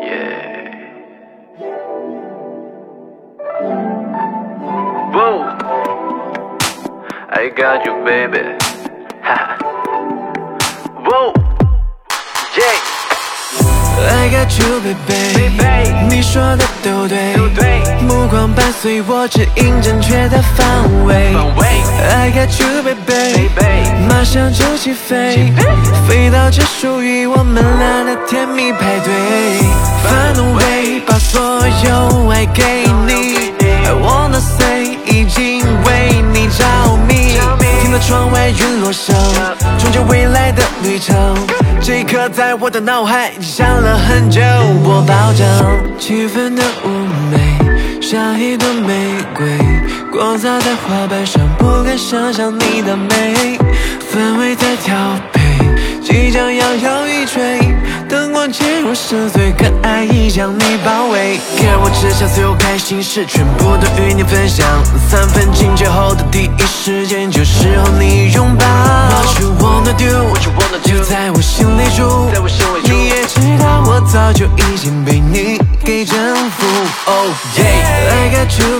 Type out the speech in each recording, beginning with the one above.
Yeah. Whoa. I got you, baby. Whoa. Yeah. I got you, baby. 你说的都对，目光伴随我指引正确的方位。I got you, baby， 马上就起飞，飞到这属于我们俩的甜蜜派对。Find a way， 把所有爱给你。I wanna say， 已经为你着迷。听到窗外陨落声，终结未来的旅程。这一刻在我的脑海想了很久，我保证气氛的妩媚，像一朵玫瑰，光洒在花瓣上，不敢想象你的美，氛围在调配，即将摇摇欲坠，灯光渐入深邃，可爱已将你包围。看我只想所有开心事全部都与你分享，3分境界后的第一时间就是和你拥抱。What you wanna do， 就在我心里住，你也知道我早就已经被你给征服。Oh yeah，I got you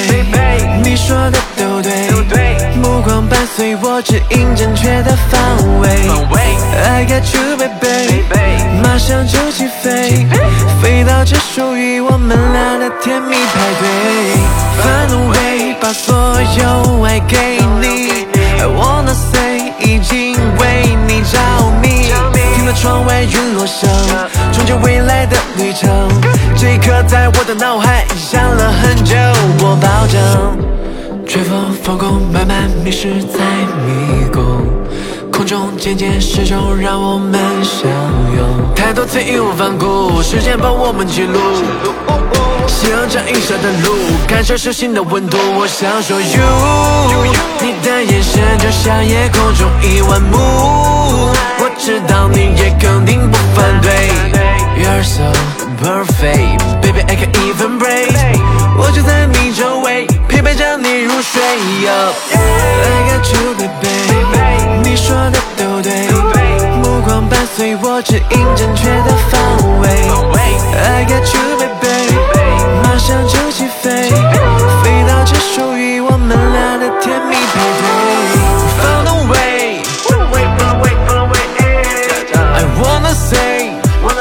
baby， 你说的都对，目光伴随我指引正确的方位。I got you baby， 马上就起飞，飞到这属于我们俩的甜蜜派对。Find a way， 把所有爱给你。I wanna say， 已经为你着迷。听到窗外陨落声，终结未来的旅程。这一刻在我的脑海想了很久，我保证。吹风放空，慢慢迷失在迷宫。空中渐渐失重，让我们相拥。太多次义无反顾，时间帮我们记录。夕阳这映射的路，感受手心的温度。我想说 you， 你的眼神就像夜空中10000幕。我知道你也肯定不反对。You're so perfect, baby I can't even break。我就在你周围，陪伴着你入睡。I got you baby， 你说的都对，目光伴随我指引正确的方位。I got you baby， 马上就起飞，飞到这属于我们俩的甜蜜派对。Found a way， I wanna say，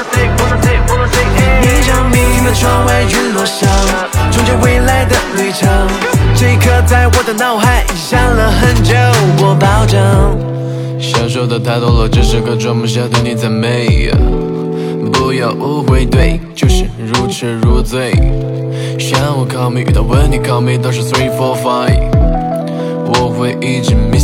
你着迷的窗外陨落声，终结未来的旅程。这一刻在我的脑海想了很久，我保证。 享受的太多了，这时刻装不下对你赞美。不要误会，对，就是如痴如醉。向我 call me， 遇到问题 call me， 都是3、4、5。我会一直